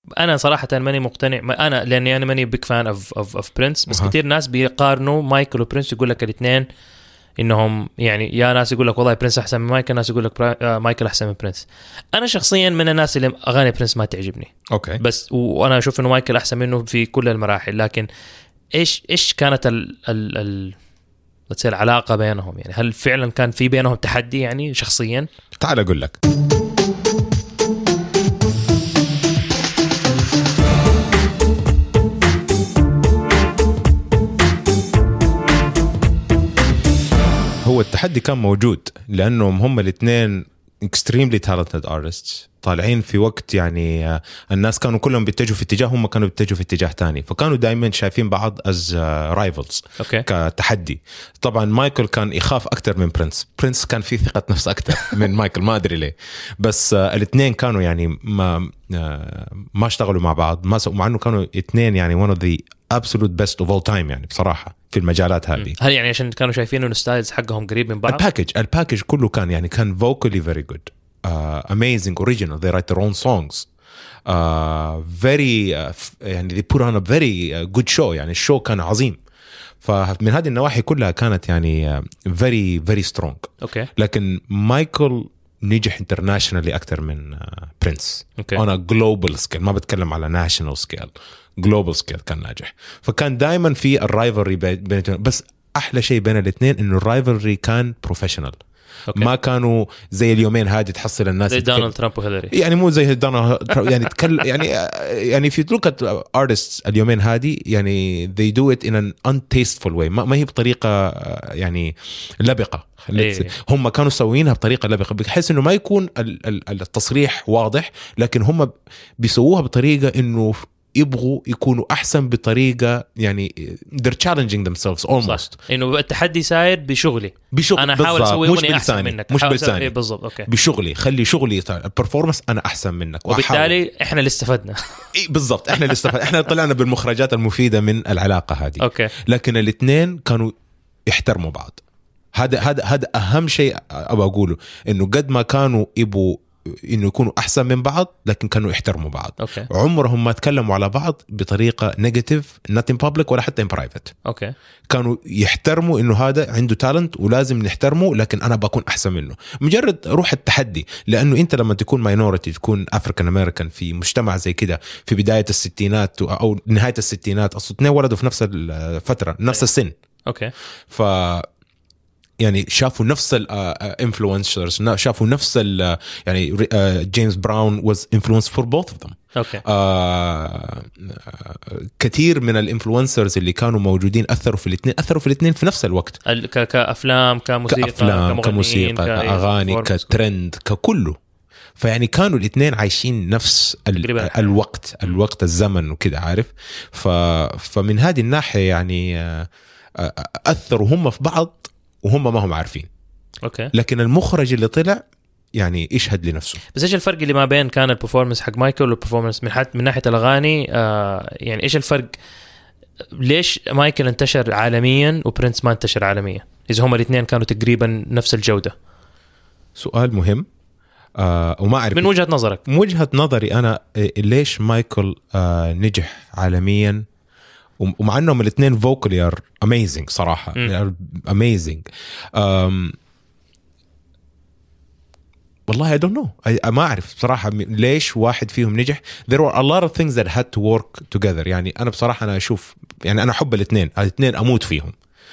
انا صراحه ماني مقتنع، انا لاني انا ماني بيك فان اوف برنس، بس كتير ناس بيقارنوا مايكل وبرنس، يقول لك الاثنين انهم يعني، يا ناس يقول لك والله برنس احسن من مايكل، ناس يقول لك مايكل احسن من برنس. انا شخصيا من الناس اللي اغاني برنس ما تعجبني، اوكي، بس وانا اشوف انه مايكل احسن منه في كل المراحل. لكن ايش كانت العلاقه بينهم؟ يعني هل فعلا كان في بينهم تحدي يعني شخصيا؟ تعال اقول لك. هو التحدي كان موجود لأنهم هم الاثنين extremely talented artists طالعين في وقت يعني الناس كانوا كلهم بيتجهوا في اتجاه، هم كانوا بيتجهوا في اتجاه تاني، فكانوا دائما شايفين بعض as rivals كتحدي. طبعا مايكل كان يخاف أكتر من برنس كان فيه ثقة نفس أكتر من مايكل، ما أدري ليه، بس الاثنين كانوا يعني ما اشتغلوا مع بعض، مع أنه كانوا اثنين يعني one of the absolute best of all time يعني بصراحة في المجالات هذه. هل يعني عشان كانوا شايفين انه الستايلز حقهم قريب من بعض؟ الباكج كله كان يعني كان vocally very good, amazing, original, they write their own songs, very يعني they put on a very good show, يعني الشو كان عظيم. فمن هذه النواحي كلها كانت يعني very very strong. اوكي. لكن مايكل نجح internationally أكتر من برنس on a global scale, ما بتكلم على national scale, global scale كان ناجح. فكان دائما في الرايفلري بينهم، بس أحلى شيء بين الاثنين إنه الرايفلري كان بروفيشنال. ما كانوا زي اليومين هذه تحصل الناس زي دونالد ترامب وهيلاري، يعني مو زي دونالد يعني يعني في look at artists اليومين هذه يعني they do it in an untasteful way, ما هي بطريقة يعني لبقة. هم كانوا سوينها بطريقة لبقة بحيث إنه ما يكون التصريح واضح، لكن هم بيسووها بطريقة إنه يبغوا يكونوا أحسن بطريقة يعني they're challenging themselves almost. إنه التحدي ساير بشغلي أنا أحاول أسوي مش بالثاني، مش بالثاني بالضبط. أوكي. بشغلي خلي شغلي البرفورمانس أنا أحسن منك، وبالتالي إحنا اللي استفدنا. بالضبط، إحنا اللي استفدنا، إحنا طلعنا بالمخرجات المفيدة من العلاقة هذه. أوكي. لكن الاثنين كانوا يحترموا بعض. هذا أهم شيء أبغى أقوله، إنه قد ما كانوا يبوا إنه يكونوا أحسن من بعض لكن كانوا يحترموا بعض. أوكي. عمرهم ما تكلموا على بعض بطريقة نيجاتيف not in public ولا حتى in private. أوكي. كانوا يحترموا إنه هذا عنده تالنت ولازم نحترمه، لكن أنا بكون أحسن منه. مجرد روح التحدي، لأنه أنت لما تكون ماينورتي، تكون أفريكان أمريكان في مجتمع زي كده في بداية الستينات أو نهاية الستينات، أصلا اثنين ولدوا في نفس الفترة نفس السن. أوكي. يعني شافوا نفس الانفلونسرز، شافوا نفس يعني جيمس براون was influenced for both of them. أوكي. كثير من الانفلونسرز اللي كانوا موجودين أثروا في الاثنين في نفس الوقت، كأفلام كموسيقى كأغاني كترند ككله. فيعني كانوا الاثنين عايشين نفس الوقت الزمن وكده، عارف. فمن هذه الناحية يعني أثروا هم في بعض وهم ما هم عارفين. أوكي. لكن المخرج اللي طلع يعني يشهد لنفسه. بس إيش الفرق اللي ما بين كان البرفورمانس حق مايكل والبرفورمانس من ناحية الأغاني؟ يعني إيش الفرق؟ ليش مايكل انتشر عالميا وبرنس ما انتشر عالميا إذا هما الاثنين كانوا تقريبا نفس الجودة؟ سؤال مهم. وما أعرف من وجهة نظرك. من وجهة نظري أنا ليش مايكل نجح عالميا ومع أنهم الاثنين vocally are amazing صراحة amazing. والله I don't know. ما أعرف بصراحة ليش واحد فيهم نجح. There were a lot of things that had to work together. يعني أنا بصراحة أنا أشوف يعني أنا أحب الاثنين أموت فيهم.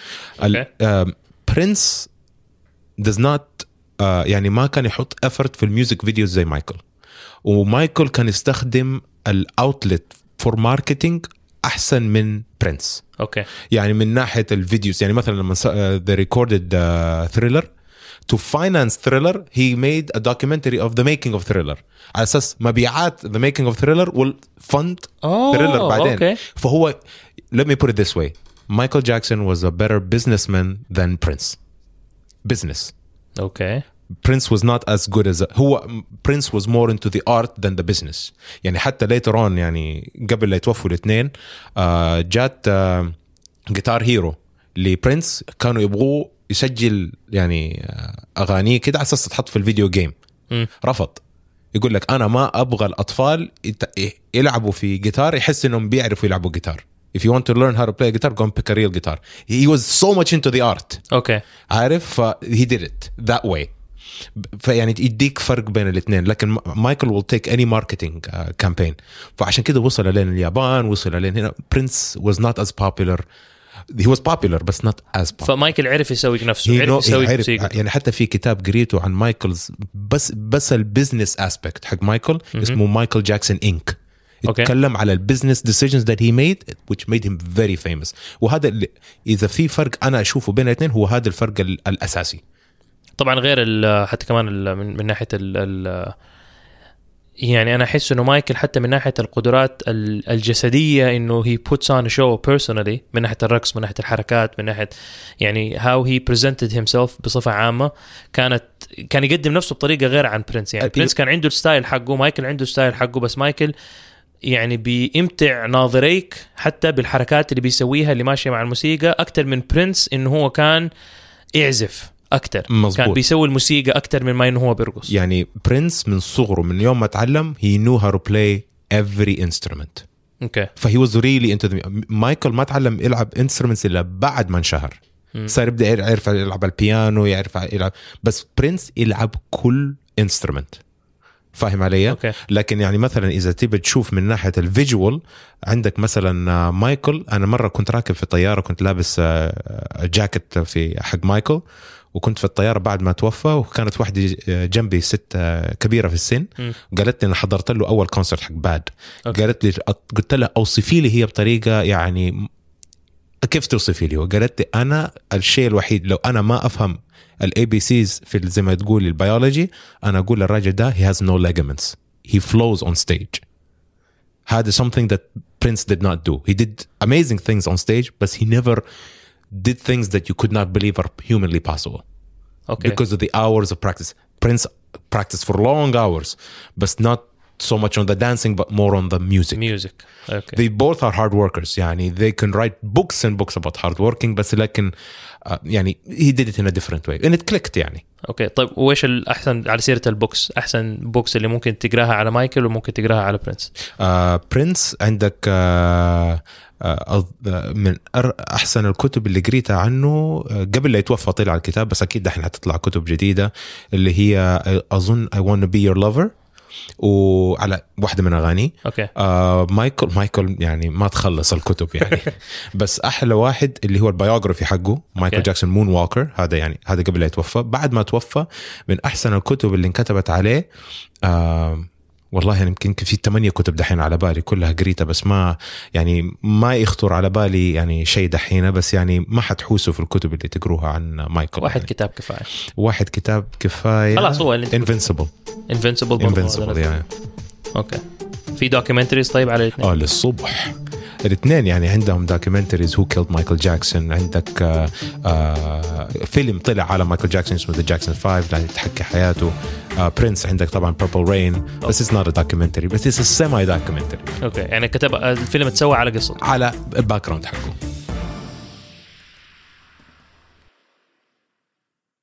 Prince does not يعني ما كان يحط effort في الميوزك فيديوز زي مايكل، ومايكل كان يستخدم الأوتلت for marketing أحسن من برنس. أوكي. يعني من ناحية الفيديوز، يعني مثلا لما they recorded Thriller to finance Thriller he made a documentary of the making of Thriller على أساس مبيعات the making of Thriller will fund Thriller بعدين. Okay. فهو let me put it this way, Michael Jackson was a better businessman than Prince. Business. Okay. Prince was not as good as Prince was more into the art than the business. يعني حتى later on يعني قبل لا يتوفوا الاثنين جات جيتار هيرو لبرنس، كانوا يبغوا يسجل يعني أغانيه كده على أساس تحط في الفيديو جيم. رفض، يقول لك أنا ما أبغى الأطفال يلعبوا في جيتار يحس إنهم بيعرفوا يلعبوا جيتار. If you want to learn how to play guitar, go and pick a real guitar. He was so much into the art. Okay. عارف, he did it that way. فيعني يديك فرق بين الاثنين. لكن مايكل will take any marketing campaign. فعشان كده وصل لين اليابان, وصل لين هنا. Prince was not as popular. He was popular but not as popular. فمايكل عرف يسوي نفسه, عرف يسوي موسيقى. يعني حتى في كتاب قريته عن مايكلز بس البزنس aspect حق مايكل اسمه مايكل جاكسون إنك. يتكلم على البزنس decisions that he made which made him very famous. وهذا إذا في فرق أنا أشوفه بين الاثنين هو هذا الفرق الأساسي. طبعا غير حتى كمان من ناحية يعني أنا أحس إنه مايكل حتى من ناحية القدرات الجسدية إنه he puts on a show personally, من ناحية الرقص, من ناحية الحركات, من ناحية يعني how he presented himself بصفة عامة. كان يقدم نفسه بطريقة غير عن برينس. يعني برينس كان عنده ستايل حقه, مايكل عنده ستايل حقه, بس مايكل يعني بيمتع ناظريك حتى بالحركات اللي بيسويها اللي ماشية مع الموسيقى أكتر من برينس إنه هو كان يعزف أكتر. مزبوط. كان بيسوي الموسيقى أكتر من ما إنه هو بيرقص. يعني برينس من صغره من يوم ما تعلم he knew how to play every instrument. Okay. فهي was really into the مايكل ما تعلم يلعب instruments إلا بعد ما انشهر. صار يبدأ يعرف يلعب البيانو, يعرف يلعب, بس برينس يلعب كل instrument. فاهم علي؟ okay. لكن يعني مثلا إذا تبي تشوف من ناحية الفيجوال, عندك مثلا مايكل. أنا مرة كنت راكب في طيارة, كنت لابس جاكيت في حق مايكل, وكنت في الطيارة بعد ما توفى, وكانت واحدة جنبي ست كبيرة في السن. قالت لي أنا حضرت له أول كونسرت حق باد. قالت لي, قلت لها أوصفي لي هي بطريقة يعني كيف توصفي لي؟ وقالت لي أنا الشيء الوحيد لو أنا ما أفهم الABCs في زي ما تقول البيولوجي, أنا أقول الراجل ده he has no ligaments, he flows on stage. هذا something that Prince did not do. He did amazing things on stage, but he never did things that you could not believe are humanly possible. Okay. Because of the hours of practice. Prince practiced for long hours, but not so much on the dancing, but more on the music. Okay. They both are hard workers. يعني they can write books and books about hard working, بس لكن يعني he did it in a different way and it clicked يعني. اوكي طيب, وإيش الأحسن على سيرة البوكس, أحسن بوكس اللي ممكن تقراها على مايكل وممكن تقراها على برينس؟ برينس عندك من أحسن الكتب اللي قريتها عنه قبل لا يتوفى طلع الكتاب, بس أكيد دحين هتطلع كتب جديدة اللي هي أظن I want to be your lover, وعلى واحدة من أغاني. أوكي. مايكل يعني ما تخلص الكتب يعني. بس أحلى واحد اللي هو البيوغرافي حقه مايكل جاكسون مون ووكر, هذا يعني هذا قبل لا يتوفى. بعد ما توفى من أحسن الكتب اللي انكتبت عليه والله يعني يمكن في 8 كتب دحين على بالي كلها قريتها, بس ما يخطر على بالي يعني شيء دحين, بس يعني ما حتحوسوا في الكتب اللي تقروها عن مايكل. واحد كتاب كفاية خلاص, هو Invincible يعني. اوكي. في دوكيومنتريز طيب على الاثنين؟ للصبح الاثنين يعني عندهم دوكيومنتريز هو كيلد مايكل جاكسون. عندك فيلم طلع على مايكل جاكسون اسمه The Jackson 5 اللي تحكي حياته. برينس عندك طبعا Purple Rain, بس it's not a documentary, but it's a semi documentary. اوكي, يعني كتب الفيلم تسوى على قصته, على الباك جراوند حقه.